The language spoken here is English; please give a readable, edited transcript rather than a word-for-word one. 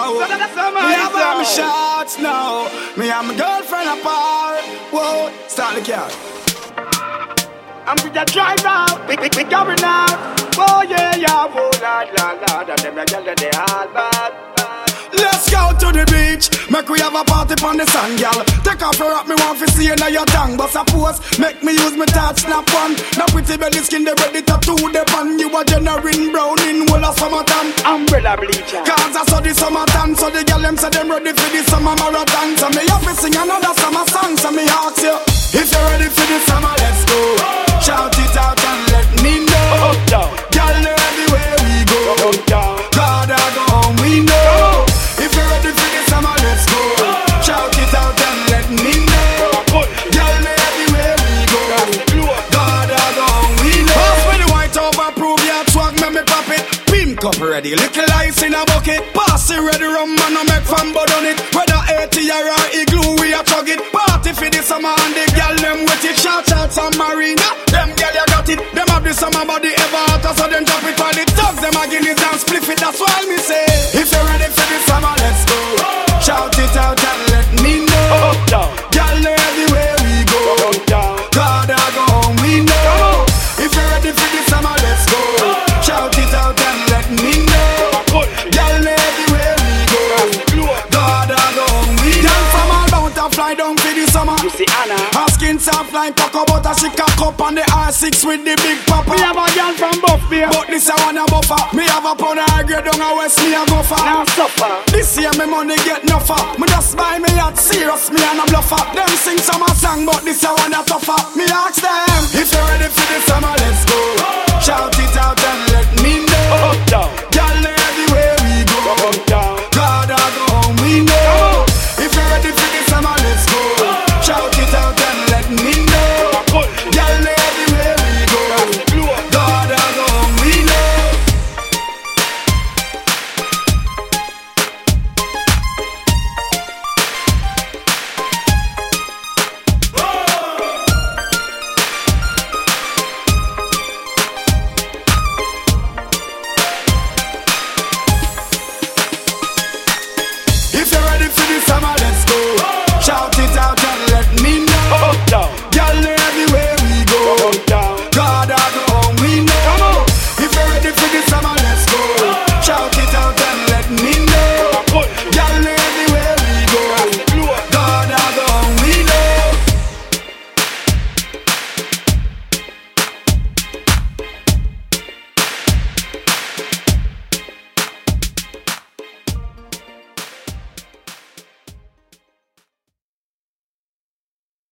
wow. Me have my shots now. Me and my girlfriend apart. Whoa, start the car. I'm with the driver, we going out. Oh yeah, yeah, oh lad, and them a girl they all bad. Let's go to the beach, make we have a party on the sand, girl. Take off your rock, me want to see you now your tongue. But suppose, make me use my touch, snap one. Now pretty belly skin, they ready to do the pan. You a generating brown in whole of summertime. Umbrella bleacher. Cause I saw the summertime, so the girl them say them ready for the summer marathon. So me have to sing another summer song, so me ask you, if you're ready for the summer, let's go. Shout it out and let me know. Girl, know everywhere we go. God, I go home, we know. If you're ready for the summer, let's go. Shout it out and let me know. Girl, know everywhere we go. God, I go home, we know. Pass me the white over, prove your swag, make me pop it. Pink up ready, little ice in a bucket. Pass it ready, rum man, no make fun but on it. Whether 80 or igloo, we a chug it. Party for the summer and the girl them with it. Shout out some marina, them girl you got it. Them have the summer body ever hotter, so them drop it. While the thugs them a guineas and split it. That's why me say, if you're ready for the summer, let's go. Shout it out and let me know. Girl know everywhere we go. God I go home, we know. If you're ready for the summer, let's go. Shout it out and let me know. Girl know everywhere we go. God I go home, we know. Girl from all bound to fly down for the summer. You see Anna, her skin soft like cocoa butter. She cock up on the R6 with the big papa. Me have a girl from Buff Beer, but this I wanna buffer. Me have a pound of high grade down a West, me a go for. Now suffer. This year me money get no for. Me just buy me yacht, serious, me and a bluffer. Them sing summer song, but this I wanna tougher. Me ask them, if you're ready for the summer, let's go. Shout it out and let me know.